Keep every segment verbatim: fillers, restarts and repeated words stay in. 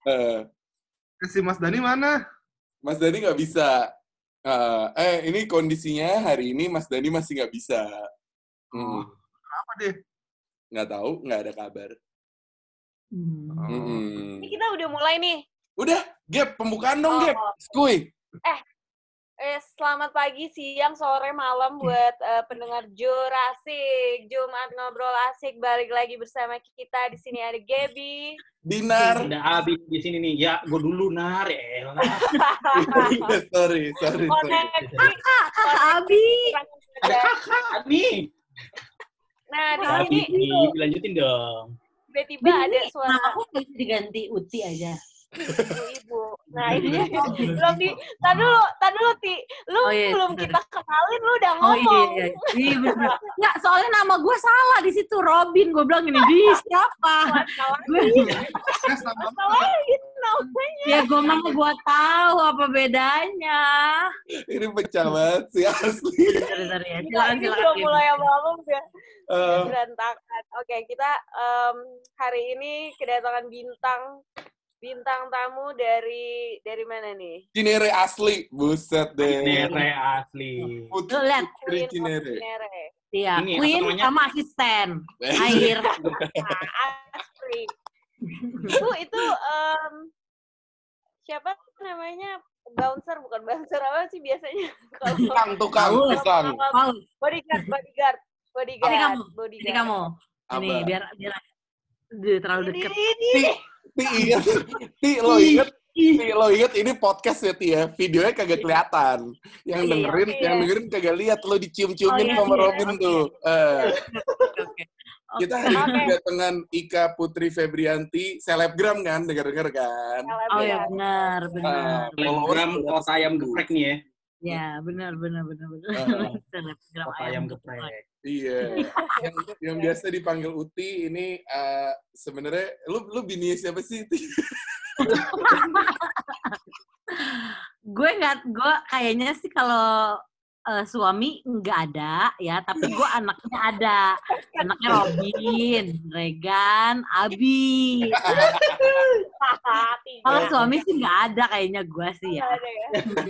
Uh, si Mas Dani mana? Mas Dani nggak bisa. Uh, eh, ini kondisinya hari ini Mas Dani masih nggak bisa. Oh, hmm. Kenapa deh? Nggak tahu, nggak ada kabar. Hmm. Hmm. Ini kita udah mulai nih. Udah, Gap, pembukaan dong, Oh. Gap. Skuy. Eh, eh, selamat pagi, siang, sore, malam buat uh, pendengar Jurasik. Jumat Ngobrol Asik, balik lagi bersama kita. Di sini ada Gaby. Dinar. Ada Abi di sini nih. Ya, gue dulu, Nar. Ya, sorry, sorry, sorry. Kakak, kakak Abi. Ada kakak nih. Nah, di Abi, sini dilanjutin dong. tiba-tiba ada suara Nama aku nggak bisa diganti Uti aja. ibu-ibu. Nah, ini belum di, tadi dulu, tadi dulu, Ti. Lu Oh, iya, belum bener. kita kenalin, lu udah Oh ngomong. iya, iya, iya bener. Nggak, soalnya nama gue salah di situ, Robin. Gue bilang ini, di siapa? Masalahin, masalahin namanya. Ya gue mau buat tahu apa bedanya. Ini pecah banget sih, asli. Bentar, ya. Ini Silakan, ini silakan. belum Gim. mulai apa-apa udah Uh, berantakan. Oke, kita em, hari ini kedatangan bintang bintang tamu dari dari mana nih? Cinere asli, buset deh. Nere asli. Putri, Tuh, lihat. Putri Queen of Cinere. Cinere. Iya, Ini apa Queen namanya? sama asisten. Air. Nah, asli. Itu itu em, siapa namanya? Bouncer bukan bouncer apa sih biasanya? Kalau Tukang, tukang, Paul. tukang. Paul, bodyguard, bodyguard, bodyguard, ini kamu. bodyguard. Ini kamu. Ini Apa? biar biar Duh, terlalu Ini, deket. ini. Ti, Ti inget, Ti lo inget, Ti lo inget ini podcast ya Ti ya, videonya kagak kelihatan. Yang Iya, dengerin, iya. yang dengerin kagak lihat lo dicium-ciumin Oh, iya, sama iya, Robin oke. tuh. Eh, Oke, oke. kita hari ini Oke. kedatangan Ika Putri Febrianti, selebgram kan, denger-denger kan. Oh ya benar, benar. Ah, Telegram followers kota ayam geprek nih ya. Ya, benar, benar, benar, benar. Ah. Selebgram Kota ayam geprek. Iya, yang, yang biasa dipanggil Uti ini eh, sebenarnya lu lu bini siapa sih? Ti? Gue nggak, gue kayaknya sih kalau eh, suami nggak ada ya, tapi gue anaknya ada, anaknya Robin, Regan, Abi. Kalau suami sih nggak ada kayaknya gue sih ya. Ada ya.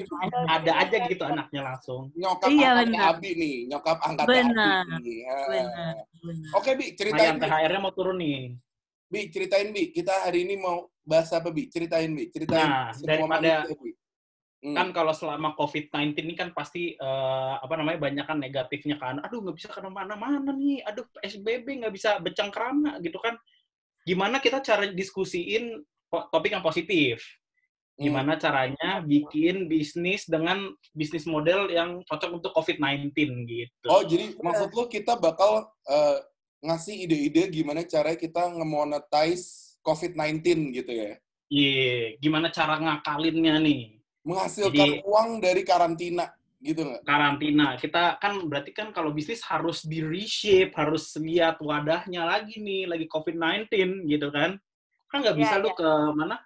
Ada aja gitu anaknya langsung. Nyokap Iya, angkatnya benar. Abi nih, nyokap angkatnya Benar, Abi nih. Ah. Benar, benar. Oke Bi, ceritain Ayam Bi. T H R-nya mau turun nih. Bi, ceritain Bi. Kita hari ini mau bahas apa Bi? Ceritain Bi, ceritain. Nah, semua daripada- manusia, Bi. Hmm. Kan kalau selama covid sembilan belas ini kan pasti eh, apa namanya banyak kan negatifnya kan. Aduh nggak bisa kemana-mana nih. Aduh P S B B nggak bisa becengkrama gitu kan. Gimana kita cara diskusiin po- topik yang positif? Gimana caranya bikin bisnis dengan bisnis model yang cocok untuk covid sembilan belas gitu. Oh, jadi maksud lo kita bakal eh, ngasih ide-ide gimana caranya kita nge-monetize covid sembilan belas gitu ya? Iya, gimana cara ngakalinnya nih? Menghasilkan Jadi- uang dari karantina gitu nggak? Karantina. Kita kan berarti kan kalau bisnis harus di reshape, harus lihat wadahnya lagi nih, lagi covid sembilan belas gitu kan. Kan nggak bisa Ya, lu ya. ke mana?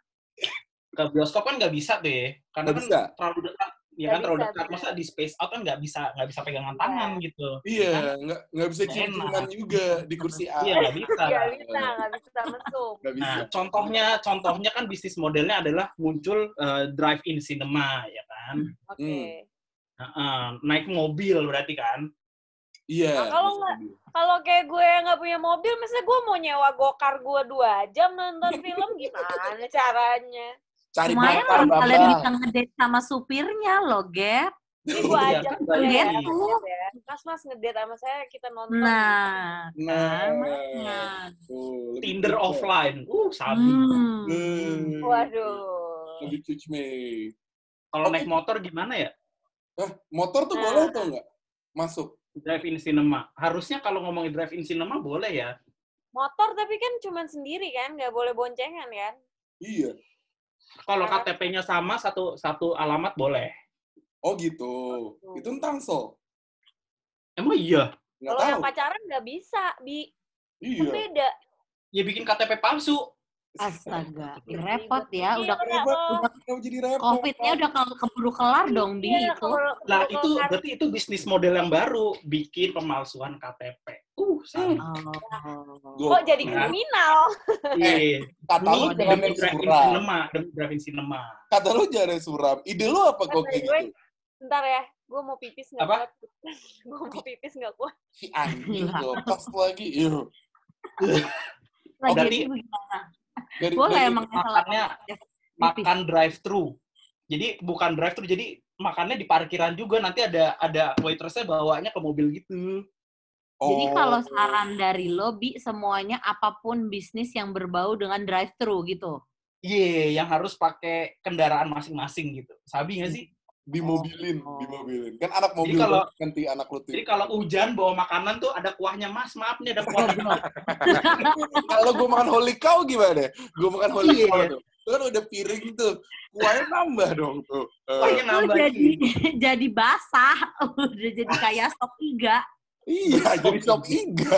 Ke bioskop kan nggak bisa deh. Karena Nggak kan bisa. terlalu dekat. Ya Nggak kan terlalu bisa, dekat. benar. Masa di space out kan nggak bisa nggak bisa pegangan tangan gitu. Iya, Kan? nggak nggak bisa Nggak cium-ciuman enak. juga di kursi A. Iya nggak bisa. Nggak bisa, nggak bisa mesum. Nggak bisa. Nah, contohnya contohnya kan bisnis modelnya adalah muncul eh, drive-in cinema ya kan. Oke. Hmm. Nah, eh, naik mobil berarti kan. Iya. Nah, kalau nggak- Kalau kayak gue yang nggak punya mobil, misalnya gue mau nyewa gokar gue dua jam nonton film, gimana caranya? Cari Lumayan bakar, lah kalian Bambang. bisa ngedate sama supirnya loh, Gap. Jadi gue Iya, ajak kan gue banyak ya, nih. ya. Mas, mas ngedate sama saya, kita nonton. Nah, Nah, kan, makanya. tuh, lebih Tinder cuci. offline. Uh, sabi. Hmm. Hmm. Waduh. Lebih cuci me. Kalau Oke. naik motor gimana ya? Hah, motor tuh Nah. boleh atau enggak? Masuk. Drive-in cinema. Harusnya kalau ngomongin drive-in cinema boleh ya. Motor tapi kan cuma sendiri kan, nggak boleh boncengan kan? Iya. Kalau K T P-nya sama satu satu alamat boleh. Oh gitu. Itu tangsel. Emang iya? Nggak Kalau yang tahu. pacaran nggak bisa, bi. Kan Iya. beda. Ya bikin K T P palsu. Astaga, repot ya. Iya, Udah Repot. udah Kenapa jadi repot? COVID-nya udah ke- keburu kelar dong, Bi, Iya, itu. kalau- Lah kalau itu kan- berarti itu bisnis model yang baru, bikin pemalsuan K T P. Uh, San. Oh. Gua- Kok jadi kriminal? Iya. Kata lu Ini jangan demi yang drive-in suram. cinema, demi drive-in cinema. Kata lu jangan yang suram. Ide lu apa kok kayak gue, gitu? bentar ya, gue mau pipis nggak Apa? kuat. Gue mau pipis nggak kuat. Si anjing lepas lagi. Iya. Lagi berarti itu gimana? Dari, Gue kayak dari- emang salah makannya pipis. makan drive-thru. Jadi bukan drive-thru, jadi makannya di parkiran juga. Nanti ada ada waitress-nya bawanya ke mobil gitu. Jadi Oh. kalau saran dari lo, Bi, semuanya apapun bisnis yang berbau dengan drive-thru gitu. Iya, yang harus pakai kendaraan masing-masing gitu. Sabi nggak sih? dimobilin, Oh. dimobilin. Kan anak mobil Jadi kalau- banget nanti anak lu tuh. Jadi kalau hujan bawa makanan tuh ada kuahnya, Mas. Maaf nih ada kuahnya. Kalau gue makan holy cow gimana? Gue makan holy Iya. cow tuh. Itu kan udah piring tuh. Kuahnya nambah dong tuh. Eh, Kuahnya Lo nambah. jadi jadi basah, udah jadi kayak stok iga. iya, jadi sop iga.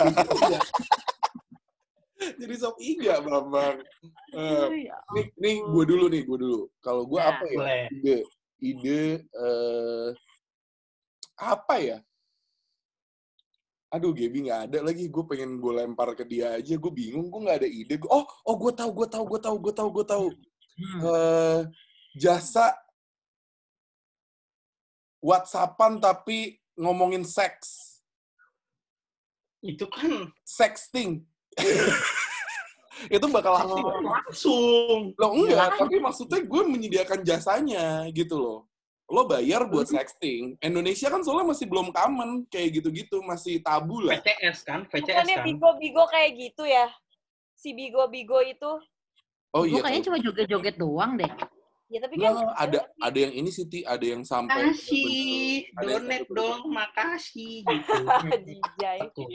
jadi sop iga, Bambang. Eh, Ya nih, nih gue dulu nih, gue dulu. Kalau gue Ya, apa ya? boleh. Ide, ide eh apa ya? Aduh, Gaby nggak ada lagi. Gue pengen gue lempar ke dia aja. Gue bingung. Gue nggak ada ide. Gua- Oh, oh, gue tahu, gue tahu, gue tahu, gue tahu, gue tahu. Hmm. Eh, jasa WhatsAppan tapi ngomongin seks, Itu kan sexting. Itu bakal laku nggak? langsung. Lo enggak, tapi maksudnya gue menyediakan jasanya gitu loh. Lo bayar buat sexting. Indonesia kan soalnya masih belum common kayak gitu-gitu, masih tabu V lah. C S kan, V C S Bukannya kan. bigo-bigo kayak gitu ya? Si bigo-bigo itu. Oh Gue iya. kayaknya cuma joget-joget doang deh. Ya tapi Nggak, kan ada ada yang ini sih, Ti. Ada yang sampai Makasih, Ada yang donate sampai- dong, makasih gitu. Jijai. Betul.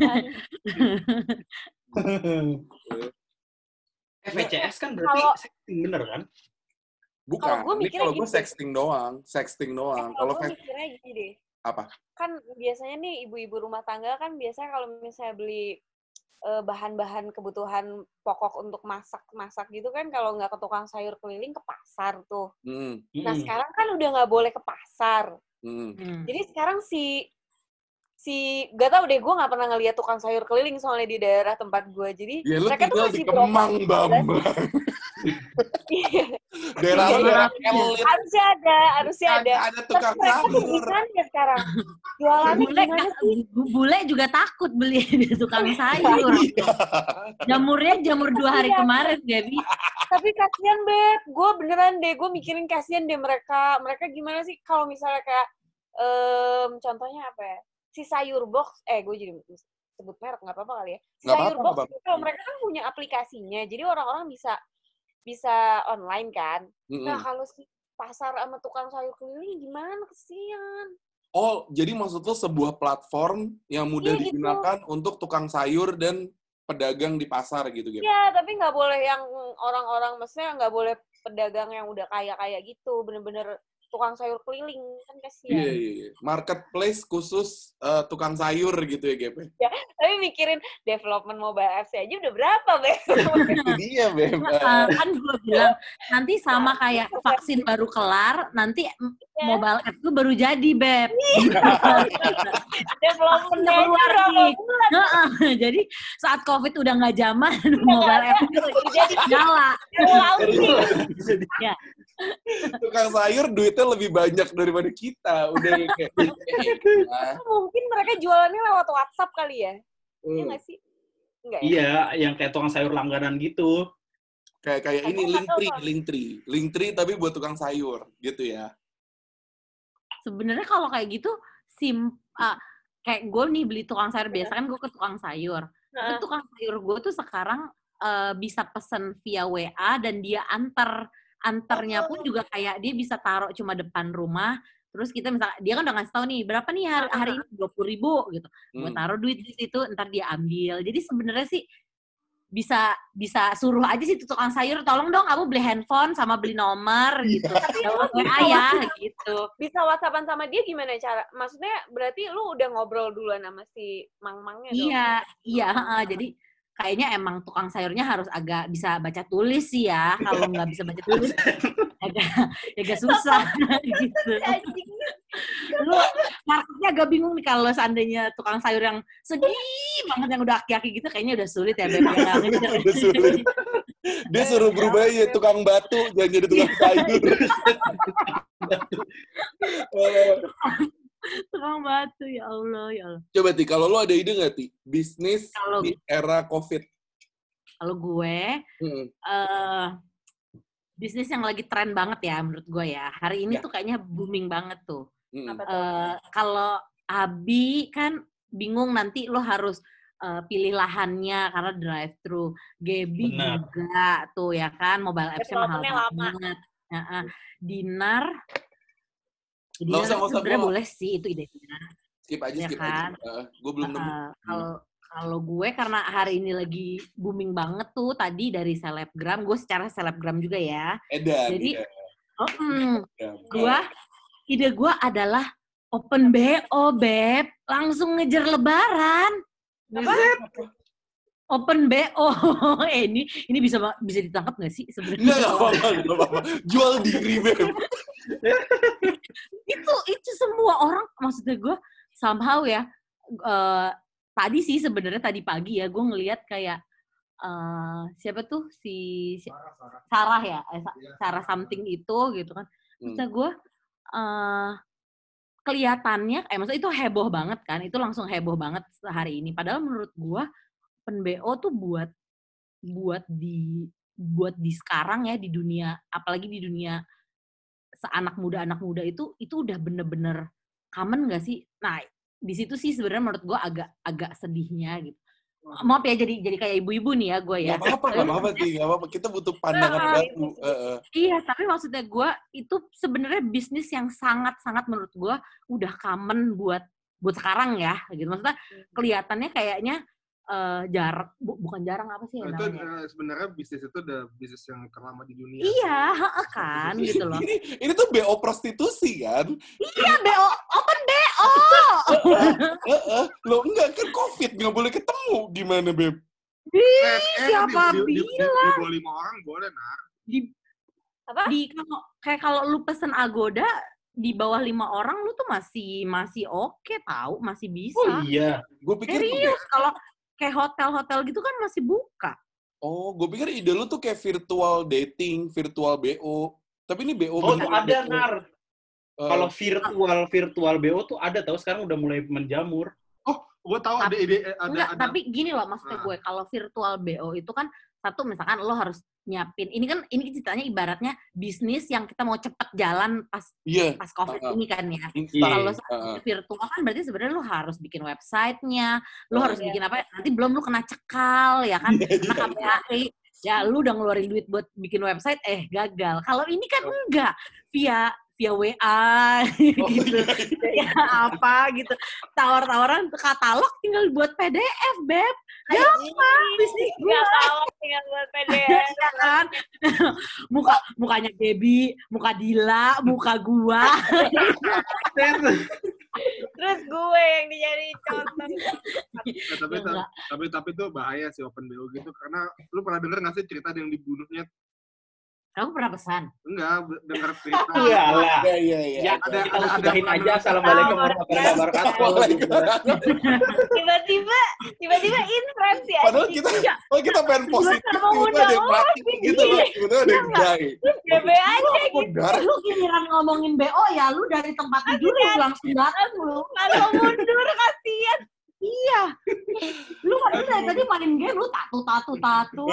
Eh, V C S kan berarti Kalau- sexting bener kan? Bukan. Kalau gue Ini mikirnya kalau gue gitu. sexting doang, sexting doang. Eh, Kalau kalau gue fe- mikirnya gini deh. apa? Kan biasanya nih ibu-ibu rumah tangga kan biasanya kalau misalnya beli eh, bahan-bahan kebutuhan pokok untuk masak-masak gitu kan kalau nggak ke tukang sayur keliling ke pasar tuh. Hmm, Nah Mm-mm. sekarang kan udah nggak boleh ke pasar. hmm. Hmm. Jadi sekarang si si gak tau deh gue nggak pernah ngeliat tukang sayur keliling soalnya di daerah tempat gue. Jadi Ya lu mereka tuh tinggal di masih Kemang, beroperasi. Bambang. Iya, Daerah lu Iya, daerah iya. elit. harusnya ada, harusnya ada. Kagak ada Tapi tukang mereka tuh sayur. gimana ya sekarang? Jualannya Bule, gimana sih? bule juga takut beli di tukang sayur. Iya. Jamurnya jamur dua hari Iya. kemarin, Gaby. Tapi kasihan, Beb. Gue beneran deh, gue mikirin kasihan deh mereka. Mereka gimana sih kalau misalnya kayak, em, contohnya apa ya? Si sayur box, eh gue jadi sebut merek, nggak apa-apa kali ya. Si Nggak sayur apa-apa, box, nggak itu kalau mereka kan punya aplikasinya, jadi orang-orang bisa bisa online kan. Mm-mm. Nah, kalau si pasar sama tukang sayur keliling gimana? Kesian. Oh, jadi maksud lo sebuah platform yang mudah Iya, gitu. digunakan untuk tukang sayur dan pedagang di pasar gitu, gitu. Ya, tapi nggak boleh yang orang-orang, maksudnya nggak boleh pedagang yang udah kaya-kaya gitu, bener-bener tukang sayur keliling, kan kasihan. Iya, iya, iya. Marketplace khusus eh, tukang sayur gitu ya, G P. Tapi mikirin development mobile apps aja udah berapa, Beb? Itu dia, Beb. Eh, kan gue bilang nanti sama kayak vaksin baru kelar, nanti m- Ya. mobile app tuh baru jadi, Beb. Development-nya aja Keluar berapa nih. bulan? Heeh, jadi saat COVID udah nggak zaman, mobile app itu Baru jadi nyala. baru launching. Tukang sayur duitnya lebih banyak daripada kita. Udah kayak, nah, Mungkin mereka jualannya lewat WhatsApp kali ya? Iya hmm. nggak sih? Enggak ya? Iya, yang kayak tukang sayur langganan gitu. kayak kayak ini Aku nggak tahu, Linktree, Bang. Linktree, Linktree tapi buat tukang sayur gitu ya. Sebenarnya kalau kayak gitu sim ah, kayak gue nih beli tukang sayur biasa kan gue ke tukang sayur. Tapi Nah, tukang sayur gue tuh sekarang eh, bisa pesen via W A dan dia antar antarnya pun juga kayak dia bisa taruh cuma depan rumah. Terus kita misalnya dia kan udah ngasih tahu nih berapa nih hari, hari ini dua puluh ribu gitu. Gue Hmm. taruh duit di situ, ntar dia ambil. Jadi sebenarnya sih bisa bisa suruh aja sih tuh tukang sayur, tolong dong kamu beli handphone sama beli nomor gitu. Lewat W A ya gitu. bisa WhatsAppan sama dia gimana cara? Maksudnya berarti lu udah ngobrol duluan sama si mang-mangnya dong? Iya, iya. heeh. Jadi kayaknya emang tukang sayurnya harus agak bisa baca tulis sih ya. Kalau nggak bisa baca tulis, agak agak susah gitu. Anjing. Lu marketnya agak bingung nih kalau seandainya tukang sayur yang sedih banget yang udah aki-aki gitu kayaknya udah sulit ya Beb. Ya, Udah sulit. Dia suruh berubah ya tukang batu, jangan jadi tukang sayur. Tukang batu, ya Allah, ya Allah. Coba Ti, kalau lo ada ide nggak Ti? Bisnis Kalau- di era COVID. Kalau gue, Hmm. eh bisnis yang lagi tren banget ya menurut gue ya. Hari ini Ya. tuh kayaknya booming banget tuh. Hmm. Apa tuh? Eh, kalau Abi kan bingung nanti lo harus eh, pilih lahannya karena drive thru. Gaby Benar. juga tuh ya kan, mobile apps-nya mahal Development-nya lama. banget. Ya, eh. Dinar, Nggak Dinar usah, nggak usah, sebenarnya gua- boleh sih itu idenya. Skip aja, Ya skip kan? aja. gue belum nemu. Uh, kalau kalau gue karena hari ini lagi booming banget tuh tadi dari selebgram, gue secara selebgram juga ya. Edan. Jadi, ya. Oh, mm, Ya, gue ide gue adalah open B O Beb, langsung ngejar Lebaran. Apa? Open B O, eh ini ini bisa bisa ditangkap nggak sih sebenarnya? Nggak, nggak apa-apa, nggak apa-apa. Jual diri, Beb. itu itu semua orang maksudnya gue somehow ya eh, tadi sih sebenarnya tadi pagi ya gue ngelihat kayak eh, siapa tuh si, si Sarah ya eh, Sa- Sarah something itu gitu kan maksudnya gue eh, kelihatannya eh maksudnya itu heboh banget kan itu langsung heboh banget hari ini padahal menurut gue open B O tuh buat buat di buat di sekarang ya di dunia apalagi di dunia seanak muda anak muda itu itu udah bener-bener common nggak sih? Nah di situ sih sebenarnya menurut gue agak agak sedihnya gitu. Maaf ya jadi jadi kayak ibu-ibu nih ya gue ya. Nggak apa-apa, nggak apa-apa, Ti. Nggak apa-apa. Kita butuh pandangan Ah, baru. Heeh. Iya tapi maksudnya gue itu sebenarnya bisnis yang sangat-sangat menurut gue udah common buat buat sekarang ya gitu. Maksudnya kelihatannya kayaknya eh, jarang bu- bukan jarang apa sih ya Itu namanya? eh, sebenarnya bisnis itu udah bisnis yang terlama di dunia. Iya, heeh kan gitu loh. Ini, ini tuh B O prostitusi kan? Iya B O open B O. Heeh. Lo enggak kan COVID, nggak boleh ketemu. Gimana, Beb? Eh, Ih, eh, siapa di, di, di, bilang? di, di bawah lima orang boleh, Nar. di Apa? di kalau kayak kalau lu pesen Agoda di bawah lima orang lu tuh masih masih oke tahu masih bisa. Oh iya. Gue pikir tuh Serius kalau kayak hotel-hotel gitu kan masih buka. Oh, gue pikir ide lu tuh kayak virtual dating, virtual B O. Tapi ini B O Oh, tuh beneran ada, B O. Nar. Eh, Kalau virtual virtual B O tuh ada tahu sekarang udah mulai menjamur. Gue tahu ada Tapi- ide, eh, ada, Enggak, ada. tapi gini loh maksudnya Ah. gue kalau virtual B O itu kan satu misalkan lo harus nyiapin. Ini kan ini ceritanya ibaratnya bisnis yang kita mau cepet jalan pas Iya. pas Covid Ah, ah. ini kan ya. Instan. Kalau Heeh. virtual kan berarti sebenarnya lu harus bikin websitenya, lu Oh, harus iya. bikin apa? Nanti belum lu kena cekal ya kan, kena K P A I. Ya lu udah ngeluarin duit buat bikin website, eh gagal. Kalau ini kan enggak, via via W A Oh, gitu, iya, iya. ya apa gitu, tawar-tawaran katalog tinggal buat P D F, Beb. Gampang bisnis gue. Nggak tahu tinggal buat P D F. Ya kan, muka mukanya Debbie, muka Dila, muka gua. Terus gue yang dijadiin contoh. Eh, tapi, Ya, ta- enggak. tapi tapi itu bahaya sih open B O gitu karena lu pernah denger nggak sih cerita ada yang dibunuhnya? Aku pernah pesan. Enggak, be- denger cerita. Iyalah. Iya, iya, iya. Ya, Ada- kita ada- ada- udahin ada- aja. Assalamualaikum warahmatullahi wabarakatuh. Waalaikumsalam. Tiba-tiba, tiba-tiba inference ya. Padahal kita, padahal kita pengen positif, Gimana mau tiba-tiba ada yang undang mati gitu loh. Tiba-tiba ada yang die. B B aja Oh, gitu. darah. Lu giliran ngomongin B O ya, lu dari tempat tidur lu langsung datang lu. Kalau mundur kasihan. Iya. Lu kan lu dari tadi main game lu tatu tatu tatu.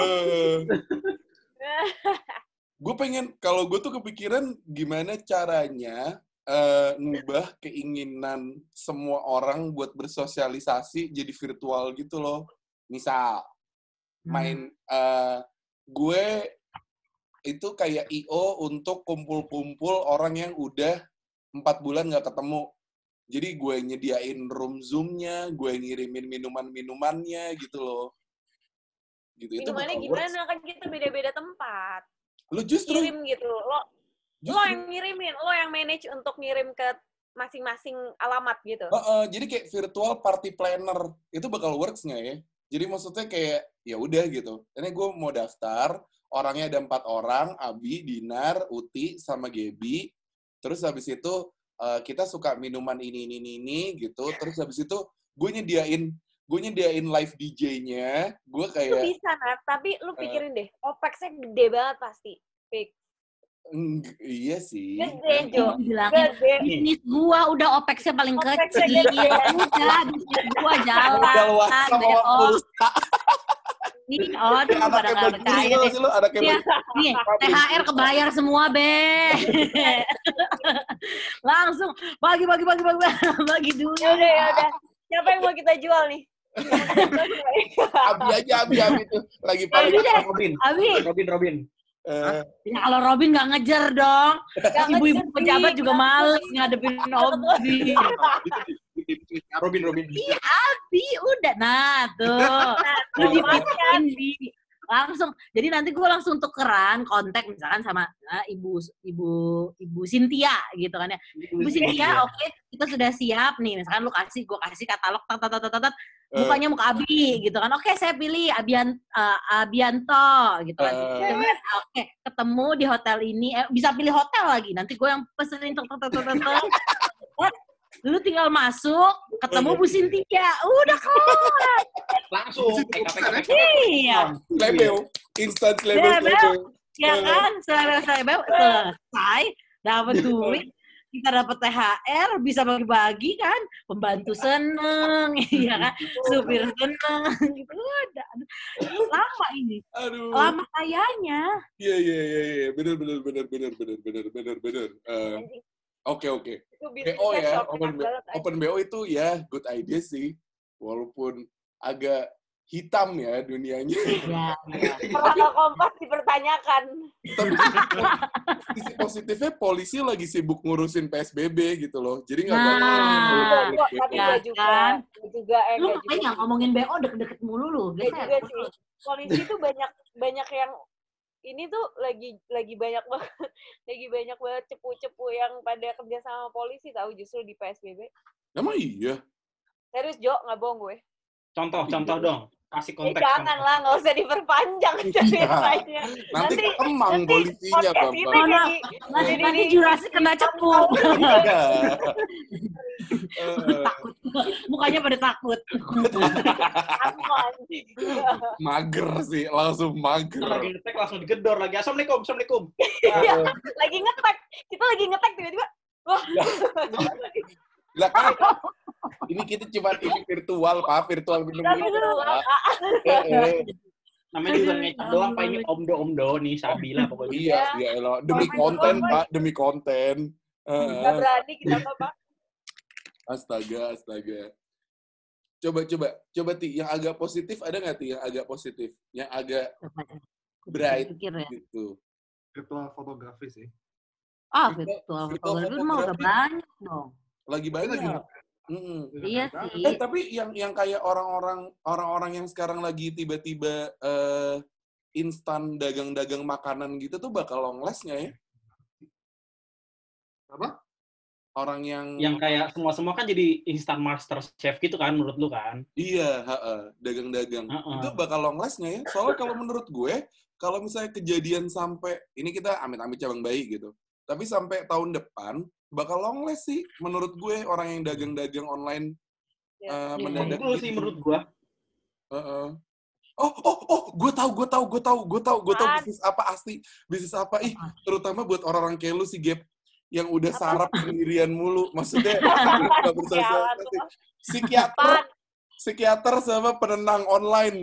Gue pengen, kalau gue tuh kepikiran gimana caranya eh, ngubah keinginan semua orang buat bersosialisasi jadi virtual gitu loh. Misal, main eh, gue itu kayak I O untuk kumpul-kumpul orang yang udah empat bulan nggak ketemu. Jadi gue nyediain room Zoom-nya, gue ngirimin minuman-minumannya gitu loh. Gitu. Itu Minumannya bakal gimana? works. Kan kita beda-beda tempat. Lu justru, Kirim gitu. Lo lo justru yang ngirimin, lo yang manage untuk ngirim ke masing-masing alamat gitu. Heeh, jadi kayak virtual party planner itu bakal works nggak ya? Jadi maksudnya kayak ya udah gitu. Ini gue mau daftar, orangnya ada empat orang, Abi, Dinar, Uti, sama Gaby. Terus habis itu uh, kita suka minuman ini ini ini, ini gitu. Terus habis itu gue nyediain gue nyediain live D J-nya, gue Itu kayak bisa, Nat. Tapi lu pikirin deh, OPEX-nya gede banget pasti. Fix. "Eng, iya sih. Gede, Jo. Bilangin, Gede. bisnis gua udah OPEX-nya paling OPEX-nya kecil. gede. Udah, bisnis gua jalan. Modal WhatsApp sama B O. pulsa. Nih, oh, tuh pada Anaknya nggak Bang percaya Juri deh. sih lo, anaknya Iya, Bang nih, T H R kebayar semua, Be. Langsung bagi bagi bagi bagi bagi dulu. Ya udah, ya udah. Siapa yang mau kita jual nih? Abi aja, Abi, Abi tuh. Lagi Abi paling deh. Robin, Abi, Robin, Robin. eh, ya kalau Robin nggak ngejar dong. Nggak Ibu-ibu ngejar, pejabat Bi. juga males ngadepin Obi. Robin, Robin. Iya, Abi, udah. Nah, tuh. Lu dipikirin, Bi. Langsung. Jadi nanti gue langsung tukeran kontak misalkan sama uh, ibu ibu ibu Cynthia gitu kan ya. Ibu Cynthia, oke, okay, kita sudah siap nih. Misalkan lu kasih, gue kasih katalog, tat tat tat tat, mukanya muka Abi gitu kan. Oke, okay, saya pilih Abian uh, Abianto gitu kan. Uh. Oke, okay, ketemu di hotel ini, eh, bisa pilih hotel lagi. Nanti gue yang pesenin tat tat tat tat. Lu tinggal masuk, ketemu Bu Cynthia, udah kelar. Langsung. Iya. Lebel, instant lebel, lebel. Ya kan, selesai selesai, dapat duit, kita dapat T H R, bisa bagi-bagi kan, pembantu seneng, ya kan, supir seneng, gitu udah. Lama ini, Aduh. lama kayaknya. Iya, iya, iya, iya, bener, bener, bener, bener, bener, bener, bener, bener. Uh, Oke, oke. B O ya, open B O, open B O itu ya good idea sih, walaupun agak hitam ya dunianya. Ya, ya. Kalau Kompas dipertanyakan. Tapi sisi positifnya polisi lagi sibuk ngurusin P S B B gitu loh, jadi nggak Nah, bakal. Tapi ya nggak juga, kan? nggak juga, eh Lu nggak juga. makanya ngomongin B O deket-deket mulu lu. Nggak Geser. juga sih. Polisi tuh banyak banyak yang ini tuh lagi lagi banyak banget lagi banyak banget cepu-cepu yang pada kerja sama polisi tahu justru di P S B B. Emang iya? Serius Jo, nggak bohong gue. Contoh, contoh dong. Kasih Eh, konteks. jangan lah, nggak usah diperpanjang ceritanya. Nanti Nanti- kemang nanti polisinya, podcast Bang. ini Bang. Nanti, jadi- nanti jadi- Jurassic kena cepu. Iya. Eh, Takut. Mukanya pada takut. Aku anjing. mager sih, langsung mager. Lagi ngetek langsung digedor lagi. Assalamualaikum, assalamualaikum. Iya, lagi ngetek. Kita lagi ngetek tiba-tiba. Wah. Lah kan, ini kita cuma ini virtual, Pak, virtual minum Tapi minum. lu- Pak. Eh, eh. Namanya juga ngecap doang, Pak. Ini omdo-omdo nih, Sabila pokoknya. Iya, iya elah. Demi konten, Pak, demi konten. Eh, Nggak berani kita apa, Pak. astaga, astaga. Coba, coba, coba Ti, yang agak positif ada nggak Ti? Yang agak positif, yang agak bright Pikir ya. gitu. Virtual fotografi sih. Ah, Virtual- virtual virtual fotografi mah udah fotografi. banyak dong. Lagi Lagi banyak. Mm-mm. Iya Banget. sih. Eh tapi yang yang kayak orang-orang orang-orang yang sekarang lagi tiba-tiba eh, instan dagang-dagang makanan gitu tuh bakal long last nggak ya? Apa? Orang yang, Yang kayak semua-semua kan jadi instant master chef gitu kan menurut lu kan? iya, ha-ha, dagang-dagang. Ha-ha. Itu bakal long last nggak ya? Soalnya kalau menurut gue, kalau misalnya kejadian sampai ini kita amit-amit cabang bayi gitu. Tapi sampai tahun depan bakal long last sih menurut gue orang yang dagang-dagang online Ya. eh, Iya, mendadak Menurut lu sih gitu. menurut gua. Heeh. Oh, oh, oh, gue tahu, gue tahu, gue tahu, gue tahu, gue tahu Apaan? bisnis apa asli, bisnis apa, ih, terutama buat orang-orang kayak lu sih, Gap, yang udah sarap sendirian mulu, maksudnya nggak bersosialisasi. Psikiater, Apaan? psikiater sama penenang online.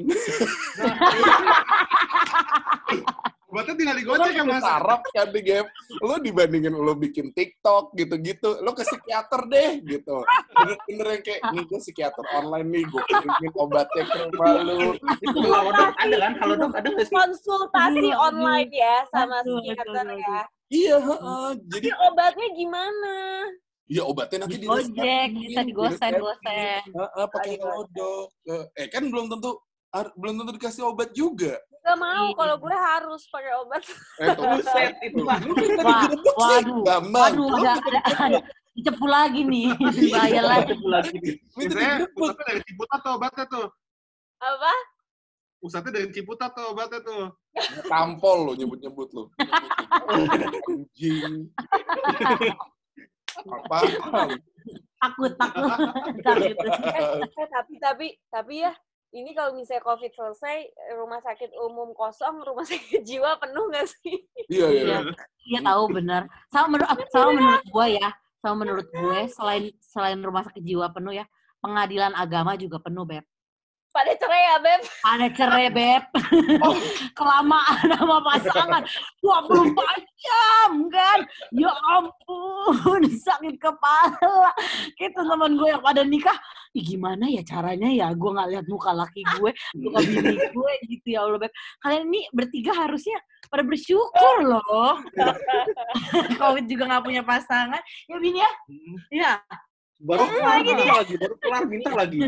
Obatnya tinggal digocek ya, Lu Mas. sarap kan di Gap, lu dibandingin lu bikin TikTok gitu-gitu, lu ke psikiater deh gitu. Bener-bener yang kayak, nih gue psikiater online nih, gue kirimin obatnya ke rumah lu. Itu kalau dok ada kan? Kalau dok ada nggak sih? Konsultasi Aduh, online ya sama aduh, psikiater aduh, ya. Iya, heeh. Jadi Tapi obatnya gimana? ya obatnya nanti Di di Gojek, bisa digosen-gosen. Heeh, pakai Aduh, Halodoc. Eh, Eh kan belum tentu ar- belum tentu dikasih obat juga. Gak mau, Iya. kalau gue harus pakai obat. Eh, tuh, Buset, itu mah. lu kan tadi Wah, gedebuk sih, waduh, Bambang. Waduh, Lu ada, minta ada, ada. Dicepu lagi nih. Bahaya lagi. lagi nih. minta Biasanya digedebuk. pusatnya dari Ciputat tuh obatnya tuh. Apa? Pusatnya dari Ciputat tuh obatnya tuh. Tampol lo nyebut-nyebut lo. Anjing. Apaan? takut takut ntar gitu. Eh, eh, tapi tapi tapi ya ini kalau misalnya COVID selesai, rumah sakit umum kosong, rumah sakit jiwa penuh nggak sih? Iya, iya. Iya, iya tahu benar. Sama menurut sama menurut gue ya, sama menurut gue selain selain rumah sakit jiwa penuh ya, pengadilan agama juga penuh, Beb. Pada cerai ya, Beb? Ada cerai, Beb. Kelamaan sama pasangan. dua puluh empat jam, kan? Ya ampun, sakit kepala. Kayak teman gue yang pada nikah, ih gimana ya caranya ya? Gue gak lihat muka laki gue, muka bini gue gitu ya Allah, Beb. Kalian ini bertiga harusnya pada bersyukur loh. Covid juga gak punya pasangan. Ya, Bini ya? Iya. Baru kelar minta lagi, baru kelar minta lagi.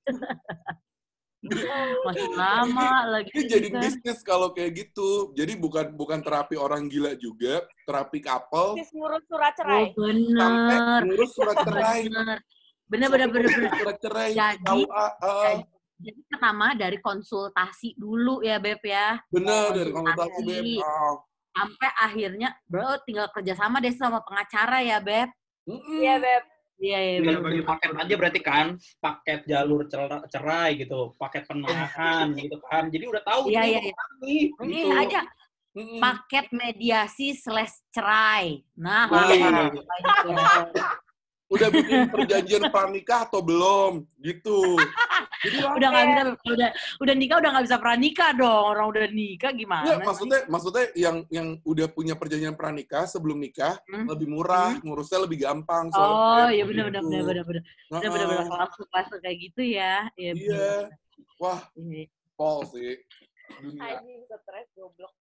Masih lama lagi. Itu jadi bisnis kalau kayak gitu. Jadi bukan bukan terapi orang gila juga, terapi couple. Bisnis ngurus surat Oh, cerai. Sampai bener. ngurus surat cerai. Bener. Bener, bener, bener, bener. Surat cerai. Jadi, K U A, uh, jadi pertama dari konsultasi dulu ya, Beb ya. bener dari konsultasi, Beb. Konsultasi. Oh. Sampai akhirnya, bro, tinggal kerjasama deh sama pengacara ya, Beb. Mm-mm. Iya, Beb. Iya, iya, Tinggal bener, bagi bener. paket aja berarti kan, paket jalur cer- cerai gitu, paket penahan gitu kan. Jadi udah tahu Iya, ini iya, iya. apa nih. Ini Gitu. aja Mm-mm. paket mediasi slash cerai. Nah, Nah, langsung kayak gitu. udah bikin perjanjian pranikah atau belum? Gitu. Jadi Udah nggak bisa, udah udah nikah udah nggak bisa pranikah dong. Orang udah nikah gimana? Nggak, sih? maksudnya maksudnya yang yang udah punya perjanjian pranikah sebelum nikah Hmm? lebih murah, ngurusnya lebih gampang. Oh, soalnya iya gitu. benar benar benar benar benar. Benar benar benar langsung langsung kayak gitu ya. Iya. Iya. Wah, bener. Pol sih. Dunia. Anjing, stres, goblok.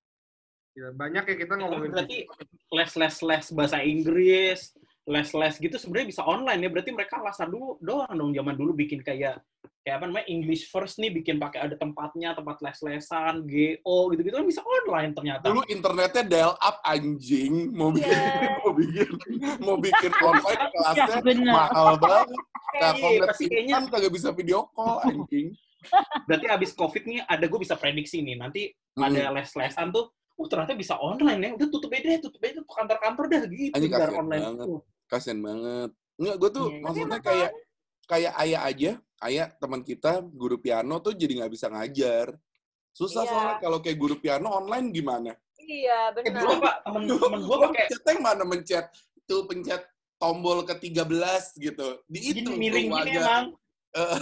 Ya, banyak ya kita Tapi ngomongin. berarti les-les-les bahasa Inggris, les-les gitu sebenarnya bisa online ya. Berarti mereka lasan dulu doang dong zaman dulu bikin kayak kayak apa namanya English First nih bikin pakai ada tempatnya, tempat les-lesan, G O gitu-gitu kan bisa online ternyata. Dulu internetnya dial up anjing, mau bikin Iya. mau bikin mau bikin online kelasnya Ya, bener. mahal banget. Nah, Iya, kalau pasti kayaknya- kan kagak bisa video call anjing. Berarti abis COVID nih ada gue bisa prediksi nih nanti Hmm. ada les-lesan tuh, oh ternyata bisa online ya, udah tutup aja deh, tutup aja tuh kantor-kantor dah gitu, Anjing, biar kasihan online banget. tuh. Kasian banget. Enggak, gue tuh Iya, iya. maksudnya Tapi kayak kayak ayah aja, ayah teman kita guru piano tuh jadi nggak bisa ngajar. Susah Iya. soalnya kalau kayak guru piano online gimana? Iya, Eh dulu benar. pak, temen-temen gue Lo pakai pencetnya yang mana mencet? Tuh pencet tombol ke tiga belas gitu. gini Dihitung miring tuh gini agak. emang, Eh,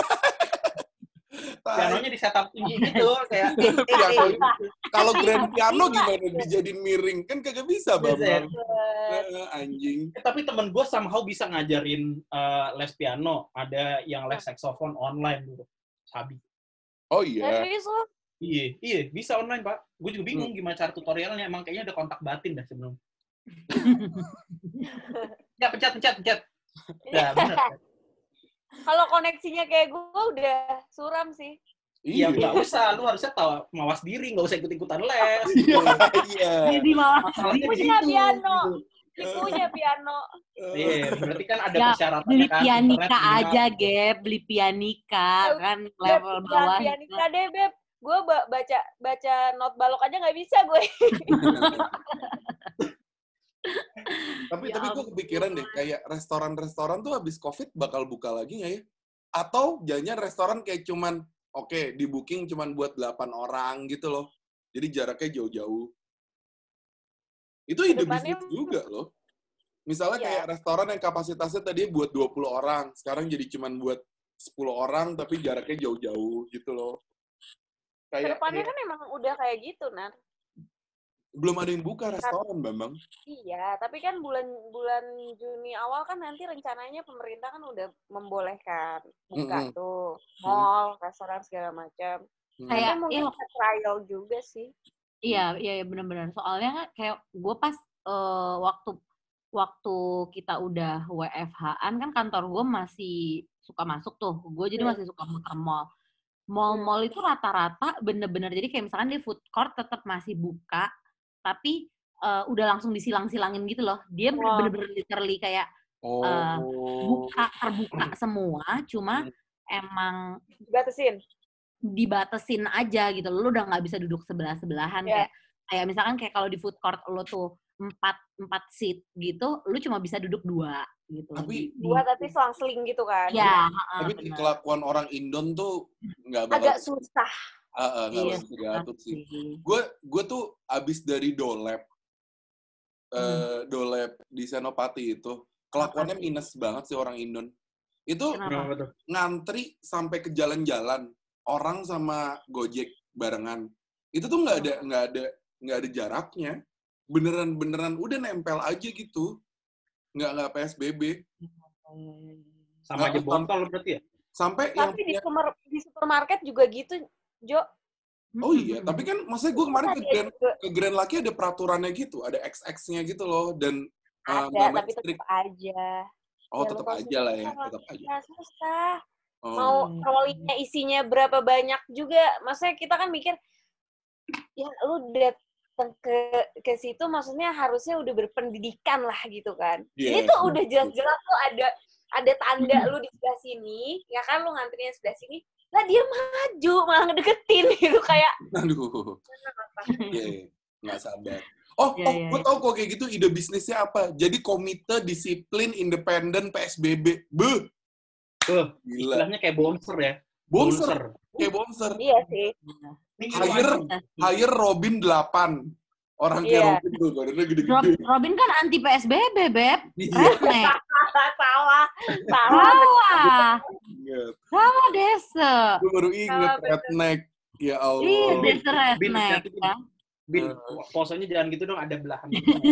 tai. pianonya disetap tinggi gitu kayak. Piano. Kalau grand piano Bisa. gimana dijadiin miring? Kan kagak bisa, Bisa ya? Bambang. Eh, anjing. Eh, tapi temen gue somehow bisa ngajarin eh, les piano, ada yang les saxophone online dulu, Sabi. Oh iya. Serius lo? Iya, iya bisa online pak. Gue juga bingung gimana cara tutorialnya. Emang kayaknya ada kontak batin dah sebelum. Ya pencet, pencet, pencet. Ya benar. Kalau koneksinya kayak gue udah suram sih. Iya, Iya. nggak usah. Lu harusnya tahu mawas diri, nggak usah ikut-ikutan les. Iya. Iya. Jadi malah Masalahnya di Punya situ. piano. gitu. Ibunya piano. Iya, berarti kan ada Ya, persyaratannya beli kan. pianika internet aja, minimal. Gap. Beli pianika kan Beb, level jangan bawah. pianika deh, Beb. Gue baca baca not balok aja nggak bisa gue. Tapi Ya tapi gue ampun. kepikiran deh, kayak restoran-restoran tuh habis COVID bakal buka lagi nggak ya? Atau jangan restoran kayak cuman, oke, di booking cuman buat delapan orang gitu loh. Jadi jaraknya jauh-jauh. Itu ide Kedepannya- bisnis juga loh. Misalnya Iya. kayak restoran yang kapasitasnya tadi buat dua puluh orang, sekarang jadi cuman buat sepuluh orang tapi jaraknya jauh-jauh gitu loh. Kayak, Kedepannya kayak kan emang udah kayak gitu, Nar. belum ada yang buka restoran, Bambang. Iya, tapi kan bulan bulan Juni awal kan nanti rencananya pemerintah kan udah membolehkan buka Mm-mm. tuh mall, restoran segala macam. Hmm. Kayak, Tapi mungkin iya, bisa trial juga sih. Iya, iya, iya benar-benar. Soalnya kan kayak gue pas eh, waktu waktu kita udah W F H-an kan kantor gue masih suka masuk tuh. Gue jadi Hmm. masih suka muter mall. Mall-mall itu rata-rata bener-bener jadi kayak misalkan di food court tetap masih buka, tapi eh, udah langsung disilang-silangin gitu loh. Dia Wah. bener-bener literally kayak Oh. eh, buka terbuka semua, cuma Hmm. emang Dibatasin. dibatesin aja gitu. Lu udah nggak bisa duduk sebelah-sebelahan Iya. kayak kayak misalkan kayak kalau di food court lo tuh empat empat seat gitu, lu cuma bisa duduk dua gitu. Tapi- Di- Dua di- tapi selang-seling gitu kan. Ya, Tapi benar. kelakuan orang Indon tuh nggak bakal Agak susah. Ah, ah, nggak Iya, bakal diatur sih. sih. Gue gue tuh abis dari Dolep, eh Dolep di Senopati itu kelakuannya Apa sih? minus banget sih orang Indon. Itu Kenapa? Kenapa tuh? ngantri sampai ke jalan-jalan orang sama Gojek barengan. Itu tuh nggak ada nggak ada nggak ada jaraknya. Beneran beneran udah nempel aja gitu. Nggak nggak P S B B. Sama aja Nggak, botol berarti ya? Sampai yang Tapi di, punya- super, di supermarket juga gitu, Jo. oh iya, tapi kan maksudnya gue kemarin ke Ada Grand juga. ke Grand Lucky ada peraturannya gitu, ada X X-nya gitu loh, dan eh, Ada, benar-benar tapi strict. tetap aja. Oh, Ya, tetap lu kalau aja lah ya, susah, tetap aja. Ya, susah. Oh. Mau trolinya isinya berapa banyak juga. Maksudnya kita kan mikir, ya lu datang ke ke situ maksudnya harusnya udah berpendidikan lah gitu kan. Iya, Ini tuh iya. udah jelas-jelas tuh ada ada tanda lu di sebelah sini, ya kan lu ngantrinya sebelah sini, lah dia maju malah ngedeketin gitu kayak Aduh. Iya, iya. Nggak sabar. Oh, Iya, oh iya, gue iya. tau kok kayak gitu ide bisnisnya apa. Jadi Komite Disiplin Independen P S B B. Beuh, Tuh, gila. istilahnya kayak bouncer ya. Bonser, kayak bonser. iya sih. Hire, hire Robin delapan. Orang kayak Iya. Robin tuh, badannya Rob, gede-gede. Robin kan anti P S B B, Beb. Iya. Redneck. salah, salah. Salah. Ingat. Salah desa. Gue baru inget Ah, bener. redneck. Ya Iya, Allah. Bin, desa Bin, redneck. hati-hati, Bin. Ya. Bin, Eh. posenya jangan gitu dong, ada belahan.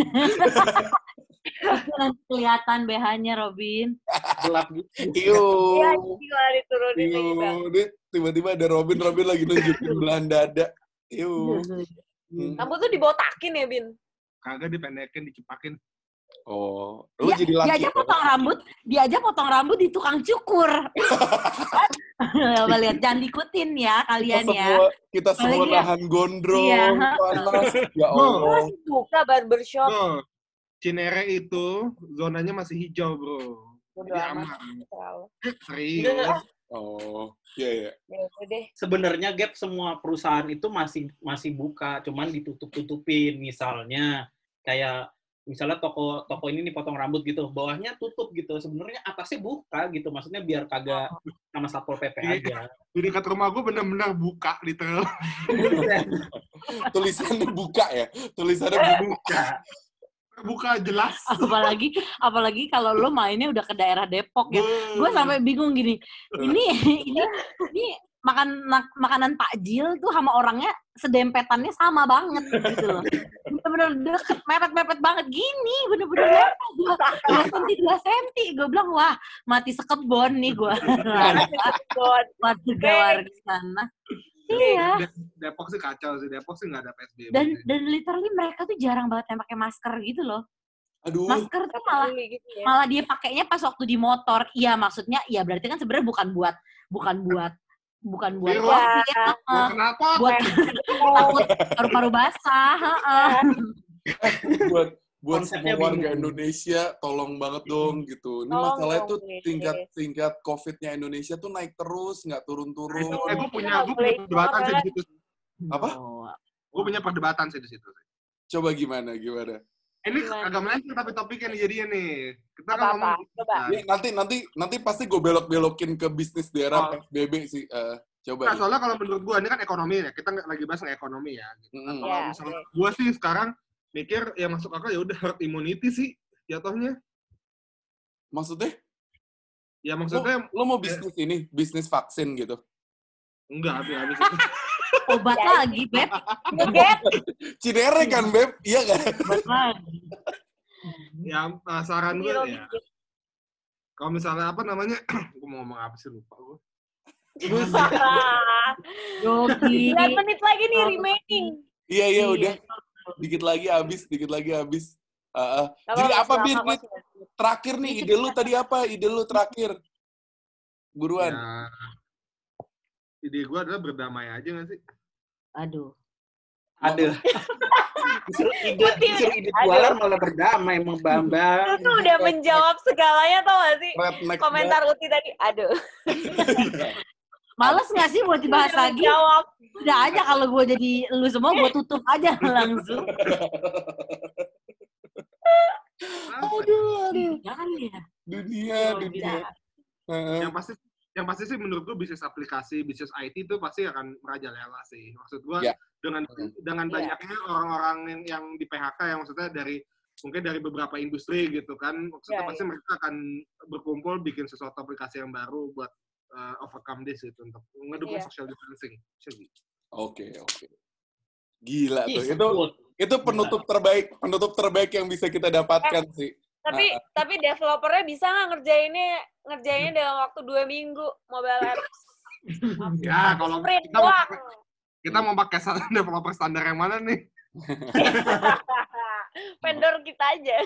Nanti kelihatan B H-nya, Robin. Gelap gitu. Iyo. Iya, gila diturunin Iyo. gitu. Dia tiba-tiba ada Robin, Robin lagi nunjukin belahan dada. Iyo. Hmm. Kamu tuh dibotakin ya, Bin? Kagak dipendekin, dicepakin. Oh, lu Dia, jadi dia laki. aja ya? potong rambut, dia aja potong rambut di tukang cukur. Coba lihat, jangan diikutin ya Kita kalian ya. semua, kita semua Apalagi ya. nahan gondrong, Iya. panas. Ya Bro. Allah. Masih buka barbershop. Bro, Cinere itu zonanya masih hijau, bro. Bodo Jadi amat. aman. Terlalu. Serius. Oh, iya iya. Ya udah deh. Sebenarnya Gap semua perusahaan itu masih masih buka, cuman ditutup-tutupin. Misalnya kayak misalnya toko toko ini nih potong rambut gitu, bawahnya tutup gitu. Sebenarnya atasnya buka gitu, maksudnya biar kagak sama Satpol P P aja. Di dekat rumah gue bener-bener buka, literal. Tulisannya buka ya. Tulisannya buka. Buka. Buka jelas. Apalagi apalagi kalau lo mainnya udah ke daerah Depok ya. Gue sampai bingung gini. Ini ini ini makan makanan takjil tuh sama orangnya sedempetannya sama banget gitu loh. Bener-bener deket, mepet-mepet banget gini, bener-bener mepet. Dua senti, dua senti. Gue bilang, wah, mati sekebon nih gue. God. Mati gawar di sana. Iya. De- Depok sih kacau sih. Depok sih nggak ada P S B B. Dan sih. dan literally mereka tuh jarang banget yang pakai masker gitu loh. Aduh. Masker tuh malah gitu ya. malah dia pakainya pas waktu di motor. Iya, maksudnya ya berarti kan sebenarnya bukan buat bukan buat bukan buat Iya. COVID, Ya. heeh. Kenapa? buat takut paru-paru basah, heeh. buat buat Konsepnya semua warga bingung. Indonesia tolong banget dong gitu. Ini Tolong masalahnya dong, tuh please. tingkat tingkat COVID-nya Indonesia tuh naik terus, nggak turun-turun. Eh, gue punya, Nggak gue boleh punya perdebatan sih di situ. Apa? Oh. Gue punya perdebatan sih di situ. Coba gimana gimana? Ini Gimana? agak melenceng tapi topiknya nih jadinya nih. Kita kan Apa-apa, ngomong. coba. Ini nanti nanti nanti pasti gue belok-belokin ke bisnis daerah Oh. P S B B sih. Eh, coba. Nah, nih. soalnya kalau menurut gue ini kan ekonomi ya. Kita nggak lagi bahas nggak ekonomi ya. Gitu. Mm-mm. Kalau Ya, misalnya oke. gue sih sekarang mikir yang masuk akal ya udah herd immunity sih jatuhnya. Maksudnya? Ya maksudnya Lo mau bisnis ini, bisnis vaksin gitu? enggak habis-habis. Obat Ya, lagi, Beb. Ngeget. Cinere kan, Beb? Iya kan? Obat lagi. Ya uh, saran gue Gila, ya. Kalau misalnya apa namanya? Gue mau ngomong apa sih lupa gue. Yogi. sembilan menit lagi nih remaining. Iya, iya, Iya. udah. Dikit lagi habis, dikit lagi habis. Uh, uh. Nggak Jadi apa-apa, apa, Bin? selama Bin? kosong. Terakhir nih, ide lu tadi apa? Ide lu terakhir. Buruan. Ya, ide gue adalah berdamai aja nggak sih? Aduh. Ada. Disuruh ide, disuruh ide jualan malah berdamai emang Bambang. Itu tuh udah menjawab segalanya tau gak sih? Redneck Komentar Uti tadi, aduh. Males nggak sih buat dibahas Udah lagi? menjawab. Udah aja kalau gue jadi lu semua, gue tutup aja langsung. Aduh, aduh. Jangan ya. Dunia, Luar dunia. biasa. Heeh. Yang pasti yang pasti sih menurut gue bisnis aplikasi, bisnis I T itu pasti akan merajalela sih. Maksud gue Ya. dengan Hmm. dengan Iya. banyaknya orang-orang yang, yang di P H K yang maksudnya dari mungkin dari beberapa industri gitu kan, maksudnya Ya, pasti ya. mereka akan berkumpul bikin sesuatu aplikasi yang baru buat uh, overcome this gitu untuk ngedukung Iya. social distancing. Jadi, Oke, oke. Gila tuh. Ih, Itu sebut. itu penutup terbaik, penutup terbaik yang bisa kita dapatkan sih. Tapi tapi developernya bisa nggak ngerjainnya ngerjainnya dalam waktu dua minggu mobile apps? ya kalau Sprint kita mau, doang. kita mau pakai sta- developer standar yang mana nih? Vendor kita aja.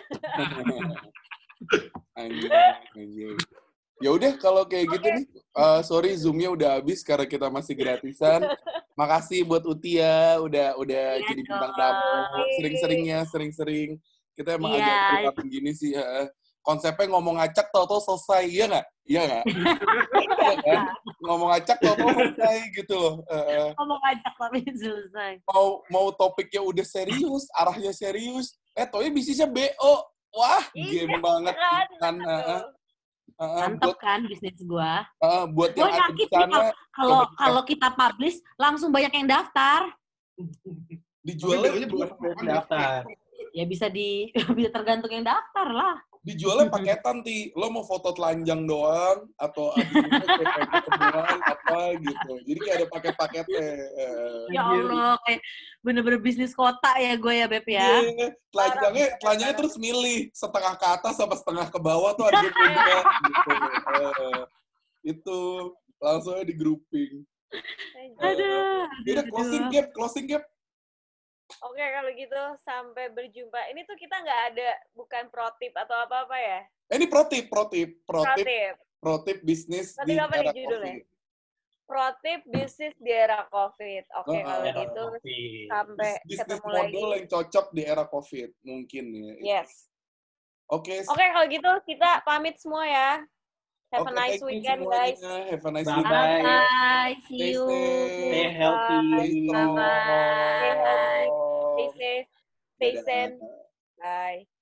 Anjing, anjing. Ya udah kalau kayak gitu Oke. nih, uh, sorry Zoom-nya udah habis karena kita masih gratisan. Makasih buat Utia udah udah Iya jadi bintang dong. tamu. Sering-seringnya, sering-sering. Kita emang Iya. agak prihatin gini sih. Uh, konsepnya ngomong acak tau-tau selesai, iya nggak? Iya nggak? Iya kan? Ngomong acak tau-tau selesai gitu loh. Uh, Ngomong ajak tapi selesai. mau mau topiknya udah serius, arahnya serius. Eh, tohnya bisnisnya B O. Wah, Iya, game banget kan? kan. Uh, uh, uh, Mantep buat kan bisnis gua. uh, buat Gua yang ada di yakin nih sana kalau kalau coba- kalau kita publish langsung banyak yang daftar. dijualnya Tapi bukan bukan Daftar. Ya bisa di bisa tergantung yang daftar lah. dijualnya paketan ti lo mau foto telanjang doang atau abis itu kayak ketemuan apa gitu jadi kayak ada paket-paketnya. Eh, Ya Allah, kayak bener-bener bisnis kota ya gue ya Beb ya. iya, telanjangnya telanjangnya terus milih setengah ke atas sama setengah ke bawah tuh harga beda gitu. Eh, itu langsung aja di grouping. Aduh. Udah closing gap, closing gap. Oke, kalau gitu sampai berjumpa. Ini tuh kita nggak ada bukan pro tip atau apa-apa ya? Eh, ini pro tip, pro tip, pro Pro tip, tip. pro tip bisnis Pro di tip apa nih era judulnya? COVID. Pro tip bisnis di era COVID. Oke, Oh, kalau oh, gitu Kopi. sampai Bisnis ketemu model lagi. yang cocok di era COVID mungkin ya. Yes. Oke. Oke, kalau gitu kita pamit semua ya. Have Oke, a nice thank you weekend, semuanya. guys. Have a nice Bye-bye. weekend. Bye, see Stay you. safe. Stay healthy. Stay strong. Bye-bye. Stay healthy. Stay safe. Stay Dadah. sane. Bye.